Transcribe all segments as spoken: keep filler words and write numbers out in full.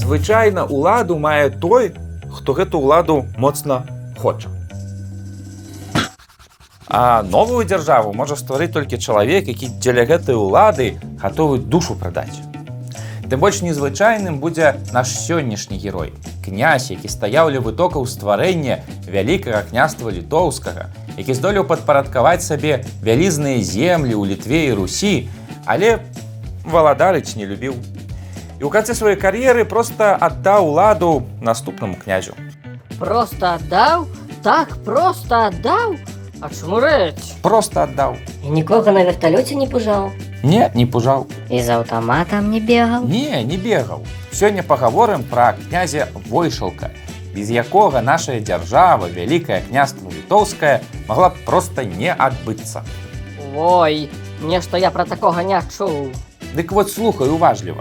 Звычайна ўладу мае той, хто гэту ўладу моцна хоча. А новую дзяржаву можа стварыць толькі чалавек, які дзеля гэтай улады гатовы душу прадаць. Тым больш незвычайным будзе наш сённяшні герой, князь, які стаяў ля вытокаў стварэння вялікага княства літоўскага, які здолеў падпарадкаваць сабе вялізныя землі ў Літве і Русі, але валадарыць не любіў. І ў канцы сваёй кар'еры проста аддаў уладу наступнаму князю. Проста аддаў? Так проста аддаў? Ачмурэць. Проста аддаў. І нікога на верталёце не пужаў? Не, не пужаў. І з аўтаматам не бегаў? Не, не бегаў. Сёння пагаворым пра князя Войшалка, без якога нашая дзяржава, вялікае княства літоўскае, магла б проста не адбыцца. Ой, нешта я пра такога не чуў. Дык вот слухай уважліва.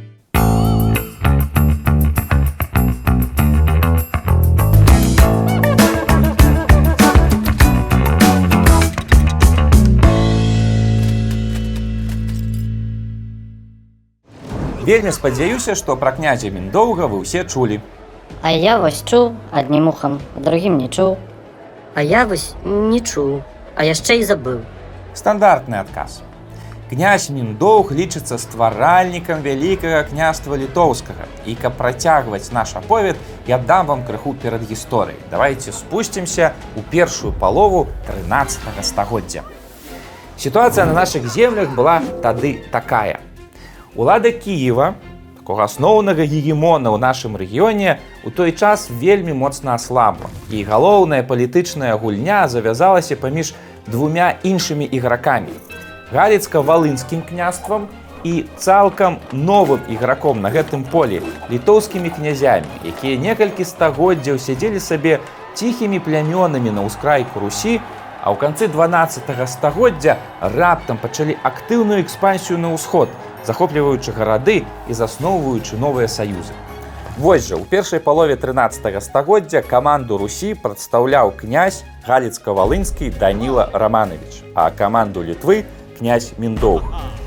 Вельмі спадзяюся, што пра князя Міндоўга вы ўсе чулі. А я вось чуў аднім ухам, а другім не чуў. А я вось не чуў, а яшчэ і забыў. Стандартны адказ. Князь Міндоўг лічыцца стваральнікам вялікага княства літоўскага. І каб працягваць наш аповед, я дам вам крыху перад гісторыяй. Давайце спусцімся ў першую палову трынаццатага стагоддзя. Сітуацыя на нашых землях была тады такая. Улада Кіева, такога асноўнага гегемона ў нашым рэгіёне, у той час вельмі моцна аслабла. І галоўная палітычная гульня завязалася паміж двумя іншымі ігракамі. Галіцка-валынскім княствам і цалкам новым іграком на гэтым полі, літоўскімі князямі, якія некалькі стагоддзяў сядзелі сабе ціхімі плямёнамі на ўскрайку Русі, а ў канцы дванаццатага стагоддзя раптам пачалі актыўную экспансію на ўсход, захопліваючы гарады і засноўваючы новыя саюзы. Вось жа, у першай палове трынаццатага стагоддзя каманду Русі прадстаўляў князь Галіцка-валынскі Даніла Раманович, а каманду Літвы князь Міндоўг.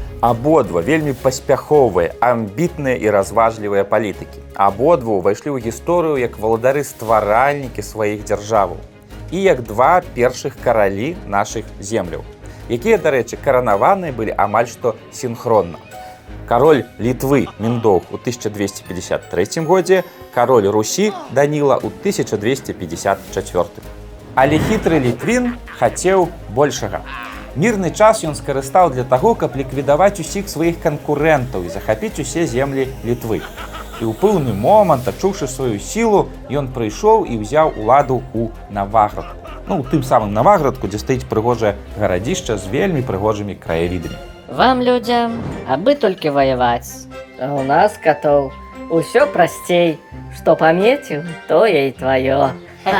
Абодва вельмі паспяховыя, амбітныя і разважлівыя палітыкі. Абодва ўвайшлі ў гісторыю як валадары-стваральнікі сваіх дзяржаваў і як два першых каралі нашых земляў, якія, дарэчы, каранаваныя былі амаль што сінхронна. Кароль Літвы Міндоўг у тысяча двесце пятьдесят трэцім годзе, кароль Русі Даніла ў тысяча двесце пятьдесят чацвёртым. Але хітры літвін хацеў большага. Мірны час ён скарыстаў для таго, каб ліквідаваць усіх сваіх канкурэнтаў і захапіць усе землі Літвы. І ў пэўны момант, адчуўшы сваю сілу, ён прыйшоў і ўзяў уладу ў Наваградку. Ну, у тым самым Наваградку, дзе стаіць прыгожае гарадзішча з вельмі прыгожымі краявідамі. Вам, людзям, абы толькі ваяваць. А у нас, катоў, усё прасцей. Што памеціў, тое і тваё.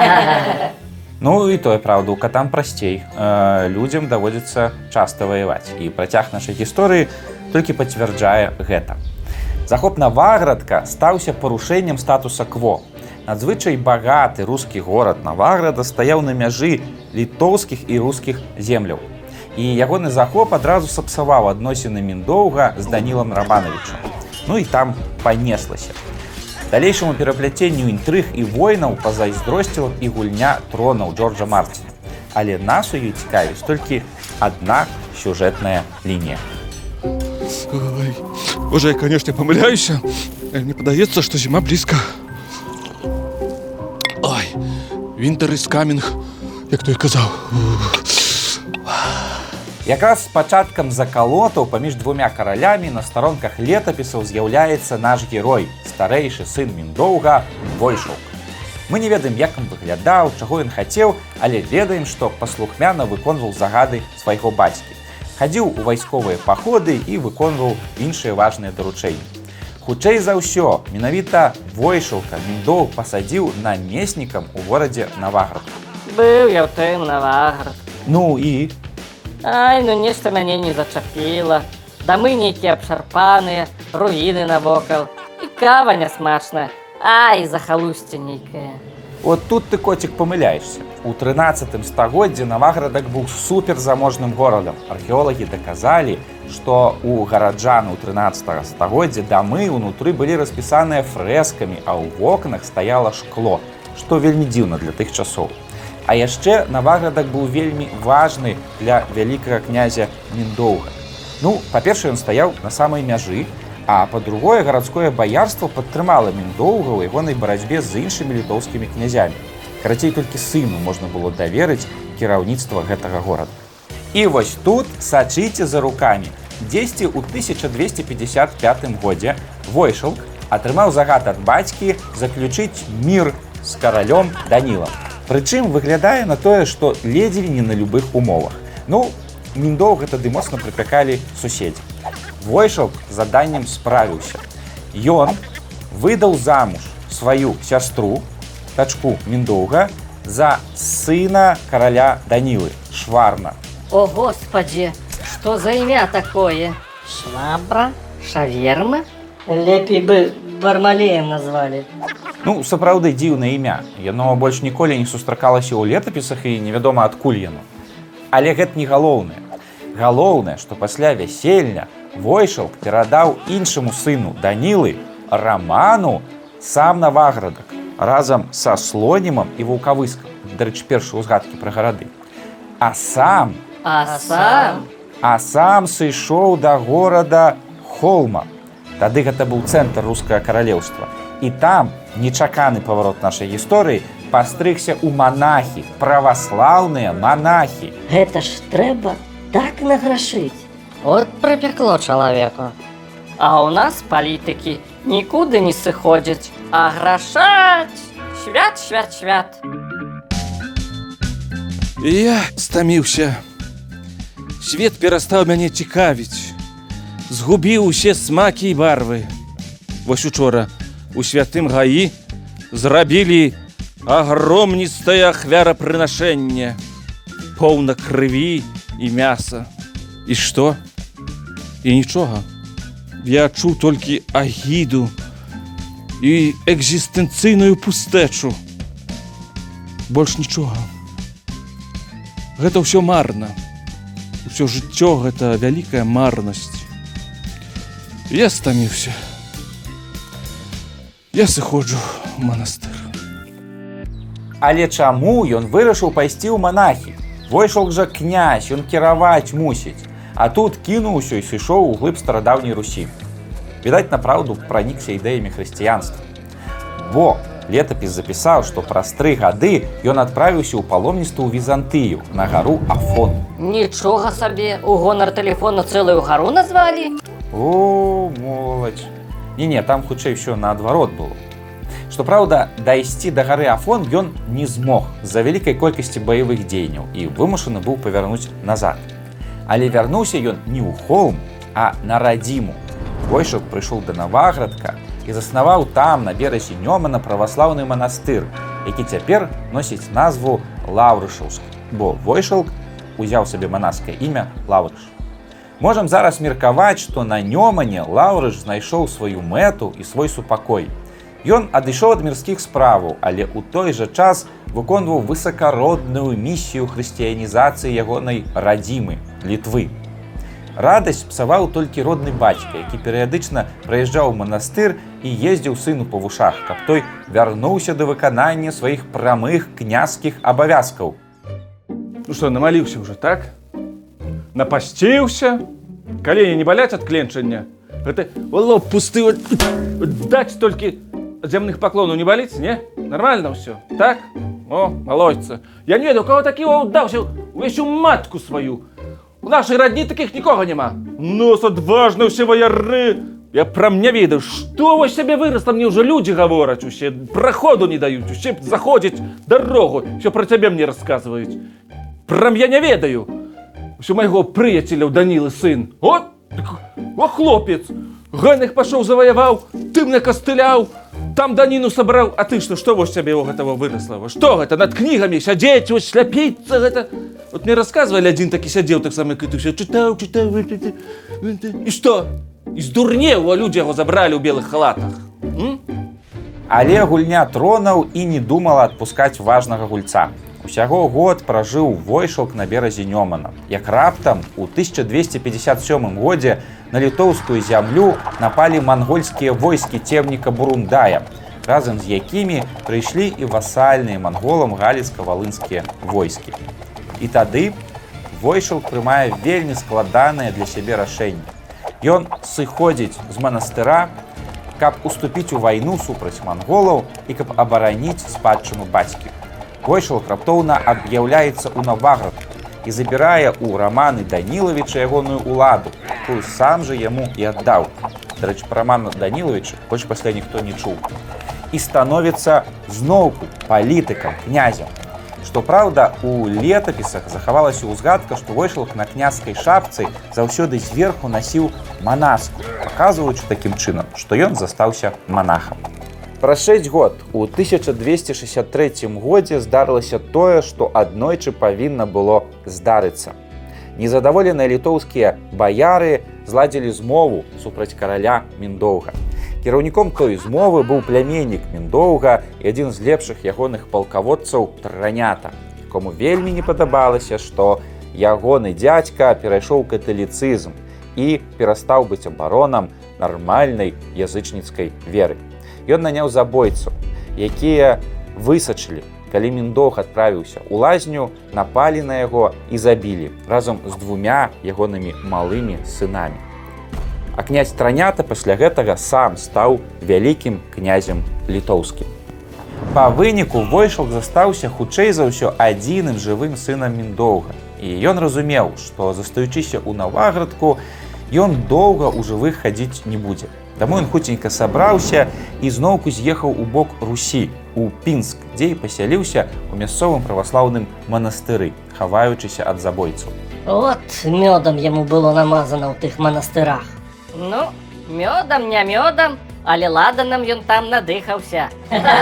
Ну і тое, праўда, у катам прасцей. Э, людзям даводзіцца часта ваяваць. І працяг нашай гісторыі толькі пацвярджае гэта. Захоп Наваградка стаўся парушэннем статуса кво. Надзвычай багаты рускі горад Наваграда стаяў на мяжы літоўскіх і рускіх земляў. І ягоны захоп адразу сапсаваў адносіны Міндоўга з Данілам Рамановичам. Ну і там панеслася. Далейшаму перапляценню інтрыг і войнаў пазайздросціла і гульня тронаў Джорджа Мартина. Але нас у ёй цікавіць толькі адна сюжэтная лінія. Ой, боже, я, конечно, помыляюсь. Мне подается, что зима близко. Ой, winter is coming, як той казаў. Якраз з пачаткам закалотаў паміж двумя каралямі на старонках летапісаў з'яўляецца наш герой, старэйшы сын Міндоўга Войшалка. Мы не ведаем, як ён выглядаў, чаго ён хацеў, але ведаем, што паслухмяна выконваў загады свайго бацькі. Хадзіў у вайсковыя паходы і выконваў іншыя важныя даручэнні. Хутчэй за ўсё, менавіта Войшалка Міндоўг пасадзіў намеснікам у горадзе Наваградку. Быў я ў тым Наваградку. Ну і? Ай, ну нешта мяне не зачапіла. Дамы нейкія абшарпаныя, руіны навокал. І кава нясмачная. Ай, захалусце нейкая. Вот тут ты, котик, памыляешься. У трынаццатым стагоддзі Наваградак быў суперзаможным горадам. Археолагі даказалі, што у гараджан у трынаццатага стагоддзя дамы ўнутры былі распісаныя фрэскамі, а ў вокнах стаяла шкло, што вельмі дзіўна для тых часоў. А яшчэ Наваградак быў вельмі важны для вялікага князя Міндоўга. Ну, па-першае, ён стаяў на самай мяжы, а па-другое, гарадское баярства падтрымала Міндоўга ў ягонай барацьбе з іншымі літоўскімі князямі. Карацей, толькі сыну можна было даверыць кіраўніцтва гэтага горада. І вось тут сачыце за рукамі. Дзесьці ў тысяча двесце пятьдесят пятым годзе Войшалк атрымаў загад ад бацькі заключыць мір з каралём Данілам. Прычым выглядае на тое, што ледзьве не на любых умовах. Ну, Міндоўга тады моцна прыпякалі суседзі. Войшалк з заданнем справіўся. Ён выдаў замуж сваю сястру, дачку Міндоўга, за сына караля Данілы, Шварна. О, Господи, что за имя такое? Швабра? Шаверма? Лепей бы Бармалеем назвалі. Ну, сапраўды дзіўнае імя. Яно больш ніколі не сустракалася ў летапісах і невядома адкуль яно. Але гэта не галоўнае. Галоўнае, што пасля вяселля Войшалк перадаў іншаму сыну Данілы, Раману, сам Наваградак, разам са Слонімам і Ваўкавыскам. Дарэчы, першыя ўзгадкі пра гарады. А сам, А сам? а сам сышоў да горада Холма. Тады гэта быў цэнтр рускага каралеўства. І там, нечаканы паварот нашай гісторыі, пастрыгся ў манахі, праваслаўныя манахі. Гэта ж трэба так награшыць. От припекло чалавеку. А у нас политики никуда не сыходят, а грошать! Свят, свят, свят. Я стаміўся. Свет перастаў мяне цікавіць. Згубіў усе смакі і барвы. Вось учора у святым гаі зрабілі агромністае ахвярапрынашэнне, поўна крыві і мяса. І што? І нічога. Я чуў толькі агіду і экзістэнцыйную пустэчу. Больш нічога. Гэта ўсё марна. Усё жыццё гэта вялікая марнасць. Я стаміўся. Я сыходжу ў манастыр. Але чаму ён вырашыў пайсці ў манахі? Войшалк жа князь, ён кіраваць мусіць. А тут кінуў усё і сышоў у глыб старадаўняй Русі. Відаць, направду пранікся ідэямі хрысціянства. Бо летапіс запісаў, што праз тры гады ён адправіўся ў паломніцтва ў Візантыю, на гару Афон. Ничего себе, у гонор телефона целую гору назвали? О, моладзь. Не-не, там хутчэй усё наадварот было. Што праўда, дайсці да гары Афон ён не змог з-за вялікай колькасці баявых дзеянняў і вымушаны быў павярнуць назад. Але вярнуўся ён не ў Холм, а на радзіму. Войшалк прыйшоў да Наваградка і заснаваў там, на беразе Нёмана, праваслаўны манастыр, які цяпер носіць назву Лаўрышаўскі, бо Войшалк узяў сабе манаскае імя Лаўрыш. Можам зараз меркаваць, што на Нёмане Лаўрыш знайшоў сваю мэту і свой супакой. Ён адышоў ад мірскіх справаў, але ў той жа час выконваў высакародную місію хрысціянізацыі ягонай радзімы, Літвы. Радасць псаваў толькі родны бацька, які перыядычна прыязджаў у манастыр і ездзіў сыну па вушах, каб той вярнуўся да выканання сваіх прамых княжскіх абавязкаў. Ну што, намаліўся ўжо, так? Напасціўся? Калені не баляць ад кленчання? Гэта лоб пусты, даць толькі зямных паклонаў не баліць, не? Нормально ўсё, так? О, малойца. Я не ведаю, у кого такі ўдаўся увесь у матку сваю. У нашай радні такіх нікога няма. Нос адважны ўсе ваяры. Я прям не ведаю, што вось сябе вырасла, мне ўжо людзі гавораць усе, праходу не даюць, усе заходзяць дарогу, ўсё пра цябе мне расказваюць. Прям я не ведаю. Усё майго прыяцеля ў Данілы сын. О, о, хлопец. Ганных пашоў заваяваў, ты мне кастыляў, там даніну сабраў, а ты што, што вось цябе ў гэтага вырасла? Што гэта, над кнігамі сядзець, вось сляпіцца гэта? Вот мне расказвалі, адзін такі сядзеў, так само, як і ты, ўсё чытаў, чытаў, і што? І здурнеў, а людзі яго забралі ў белых халатах. М? Але гульня тронаў і не думала адпускаць важнага гульца. Усяго год пражыў Войшалк на беразе Нёмана. Як раптам у тысяча двесце пятьдесят сёмым годзе на літоўскую зямлю напалі мангольскія войскі цемніка Бурундая, разам з якімі прыйшлі і васальныя манголам галіцка-валынскія войскі. І тады Войшалк прымае вельмі складанае для сябе рашэнне. Ён сыходзіць з манастыра, каб уступіць у вайну супраць манголаў і каб абараніць спадчыну бацькі. Войшалк раптоўна аб'яўляецца ў Наваградку і забірае ў Раманы Данілавіча ягоную ўладу, якую сам жа яму і аддаў. Дарэчы, пра Рамана Данілавіча больш пасля ніхто не чуў. І становіцца зноўку палітыкам, князем. Што праўда, у летапісах захавалася ўзгадка, што Войшалк на княжскай шапцы заўсёды зверху насіў манаску, паказваючы такім чынам, што ён застаўся манахам. Праз шэсць год, у тысяча двесце шэсцьдзесят трэцім годзе здарылася тое, што аднойчы павінна было здарыцца. Незадаволеныя літоўскія баяры зладзілі змову супраць караля Міндоўга. Кіраўніком той змовы быў пляменнік Міндоўга і адзін з лепшых ягоных палкаводцаў Транята, якому вельмі не падабалася, што ягоны дзядзька перайшоў каталіцызм і перастаў быць абаронам нармальнай язычніцкай веры. Ён наняў забойцаў, якія высачылі, калі Міндоўг адправіўся ў лазню, напалі на яго і забілі разам з двумя ягонымі малымі сынамі. А князь Транята пасля гэтага сам стаў вялікім князем літоўскім. Па выніку Войшалк застаўся хутчэй за ўсё адзіным жывым сынам Міндоўга. І ён разумеў, што застаючыся ў Наваградку, ён доўга ў жывых хадзіць не будзе. Таму ён хуценька сабраўся і зноўку з'ехаў у бок Русі, у Пінск, дзе і пасяліўся ў мясцовым праваслаўным манастыры, хаваючыся ад забойцаў. От мёдам яму было намазана ў тых манастырах. Ну, мёдам, не мёдам, але ладанам ён там надыхаўся.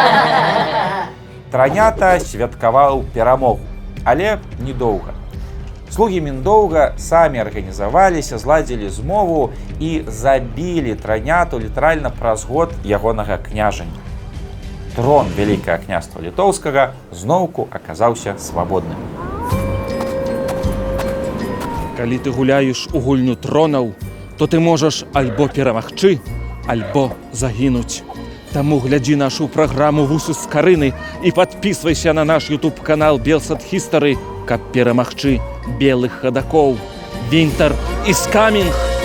Транята святкаваў перамогу, але недоўга. Слугі Міндоўга самі арганізаваліся, зладзілі змову і забілі Траняту літаральна праз год ягонага княжання. Трон Вялікага княства Літоўскага зноўку аказаўся свабодным. Калі ты гуляеш у гульню тронаў, то ты можаш альбо перамагчы, альбо загінуць. Таму глядзі нашу праграму «Вусы з Карыны» і падпісвайся на наш ютуб-канал «Белсат Хістары», каб перамагчы белых хадакоў. Вінтер is coming!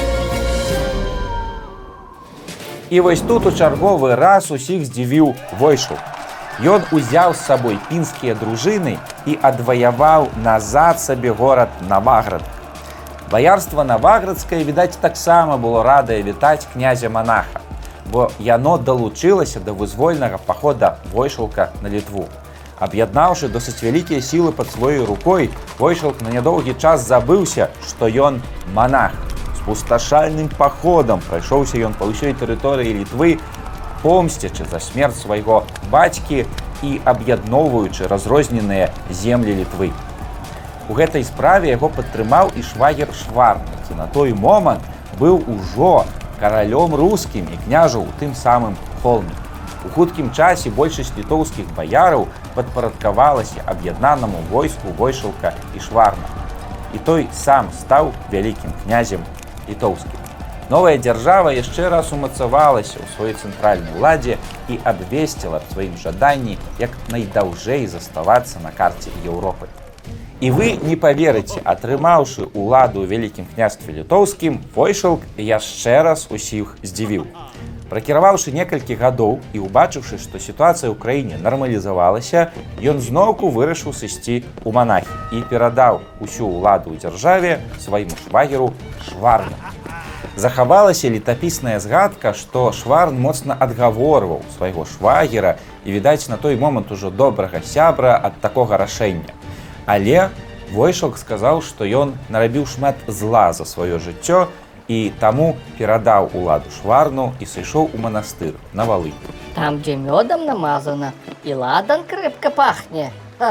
І вось тут у чарговы раз усіх здзівіў Войшалк. Ён узяў з сабой пінскія дружыны і адваяваў назад сабе горад Наваградак. Баярства Наваградскае, відаць, таксама было радае вітаць князя-манаха, бо яно далучылася да вызвольнага пахода Войшалка на Літву. Аб'яднаўшы досыць вялікія сілы пад сваёй рукой, Войшалк на нядоўгі час забыўся, што ён манах. З пусташальным паходам прайшоўся ён па ўсёй тэрыторыі Літвы, помсцячы за смерць свайго бацькі і аб'ядноўваючы разрозненыя землі Літвы. У гэтай справе яго падтрымаў і швагер Шварн, які на той момант быў ужо каралём рускім і княжаў у тым самым Холме. У хуткім часе большасць літоўскіх баяраў падпарадкавалася аб'яднанаму войску Войшалка і Шварна. І той сам стаў вялікім князем літоўскім. Новая дзяржава яшчэ раз умацавалася ў сваёй цэнтральнай уладзе і абвесціла аб сваім жаданні як найдаўжэй заставацца на карце Еўропы. І вы не паверыце, атрымаўшы ўладу ў вялікім княстве літоўскім, Войшалк яшчэ раз усіх здзівіў. Пракіраваўшы некалькі гадоў і ўбачыўшы, што сітуацыя ў краіне нармалізавалася, ён зноўку вырашыў сысці ў манахі і перадаў усю ўладу ў дзяржаве свайму швагеру Шварну. Захавалася летапісная згадка, што Шварн моцна адгаворваў свайго швагера і, відаць, на той момант ужо добрага сябра ад такога рашэння. Але Войшалк сказаў, што ён нарабіў шмат зла за сваё жыццё і таму перадаў уладу Шварну і сышоў у манастыр на Валынь. Там, дзе мёдам намазана, і ладан крепка пахне.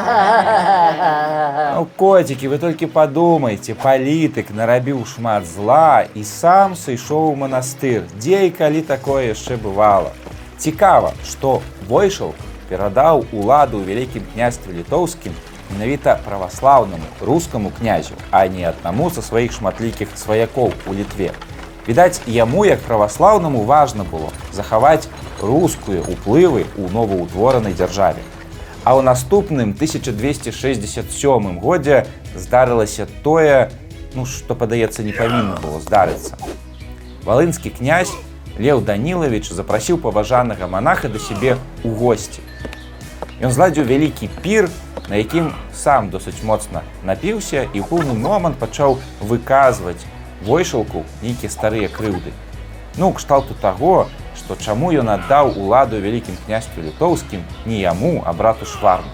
Ну, котики, вы толькі падумайце, палітык нарабіў шмат зла і сам сышоў у манастыр. Дзе і калі такое яшчэ бывала? Цікава, што Войшалк перадаў уладу ў вялікім княстве літоўскім менавіта праваслаўнаму рускаму князю, а не аднаму са сваіх шматлікіх сваякоў у Літве. Відаць, яму, як праваслаўнаму, важна было захаваць рускія ўплывы ў новаўтворанай дзяржаве. А ў наступным тысяча двести шэсцьдзесят сёмым годзе здарылася тое, ну, што, падаецца, не павінна было здарыцца. Валынскі князь Леў Данілавіч запрасіў паважанага манаха да сябе ў госці. Ён зладзіў вялікі пір, на якім сам досыць моцна напіўся і ў пэўны момант пачаў выказваць Войшалку нейкія старыя крыўды. Ну, кшталту таго, што чаму ён аддаў уладу вялікім княстве літоўскім не яму, а брату Шварну.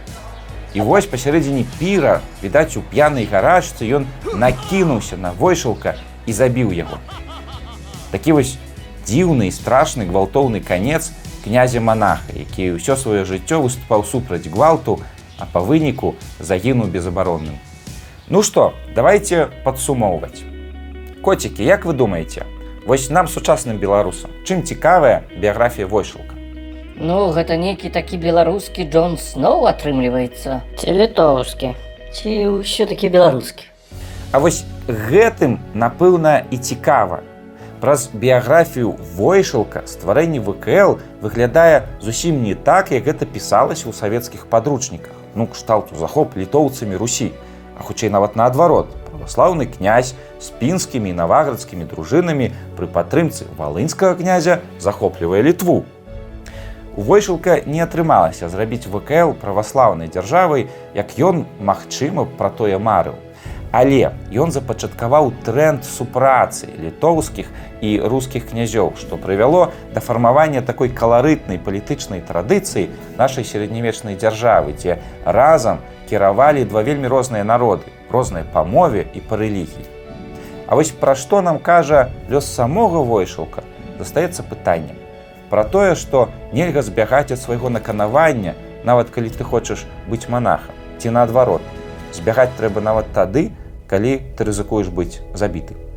І вось пасярэдзіне піра, відаць, у п'янай гарачцы ён накінуўся на Войшалка і забіў яго. Такі вось дзіўны і страшны гвалтоўны канец князя-манаха, які ўсё сваё жыццё выступаў супраць гвалту, а па выніку загінуў безабаронным. Ну што, давайте падсумоўваць. Коцікі, як вы думаеце, вось нам, сучасным беларусам, чым цікавая біяграфія Войшалка? Ну, гэта нейкі такі беларускі Джон Сноу атрымліваецца. Ці літоўскі. Ці ўсё-такі беларускі? А вось гэтым, напэўна, і цікава. Праз біяграфію Войшалка стварэнне вэ ка эл выглядае зусім не так, як гэта пісалася ў савецкіх падручніках. Ну, кшталту захоп літоўцамі Русі, а хутчэй нават наадварот. Праваслаўны князь з пінскімі і наваградскімі дружынамі пры падтрымцы валынскага князя захоплівае Літву. У Войшалка не атрымалася зрабіць вэ ка эл праваслаўнай дзяржавай, як ён, магчыма, пра тое марыў. Але ён запачаткаваў тренд супрацы літоўскіх і рускіх князёў, што прывяло да фармавання такой каларытнай палітычнай традыцыі нашай сярэднявечнай дзяржавы, дзе разам кіравалі два вельмі розныя народы, розныя па мове і па рэлігіі. А вось пра што нам кажа лёс самога Войшалка, застаецца пытаннем. Пра тое, што нельга збягаць ад свайго наканавання, нават калі ты хочаш быць манахам, ці наадварот. Збягаць трэба нават тады, калі ты рызыкуеш быць забіты.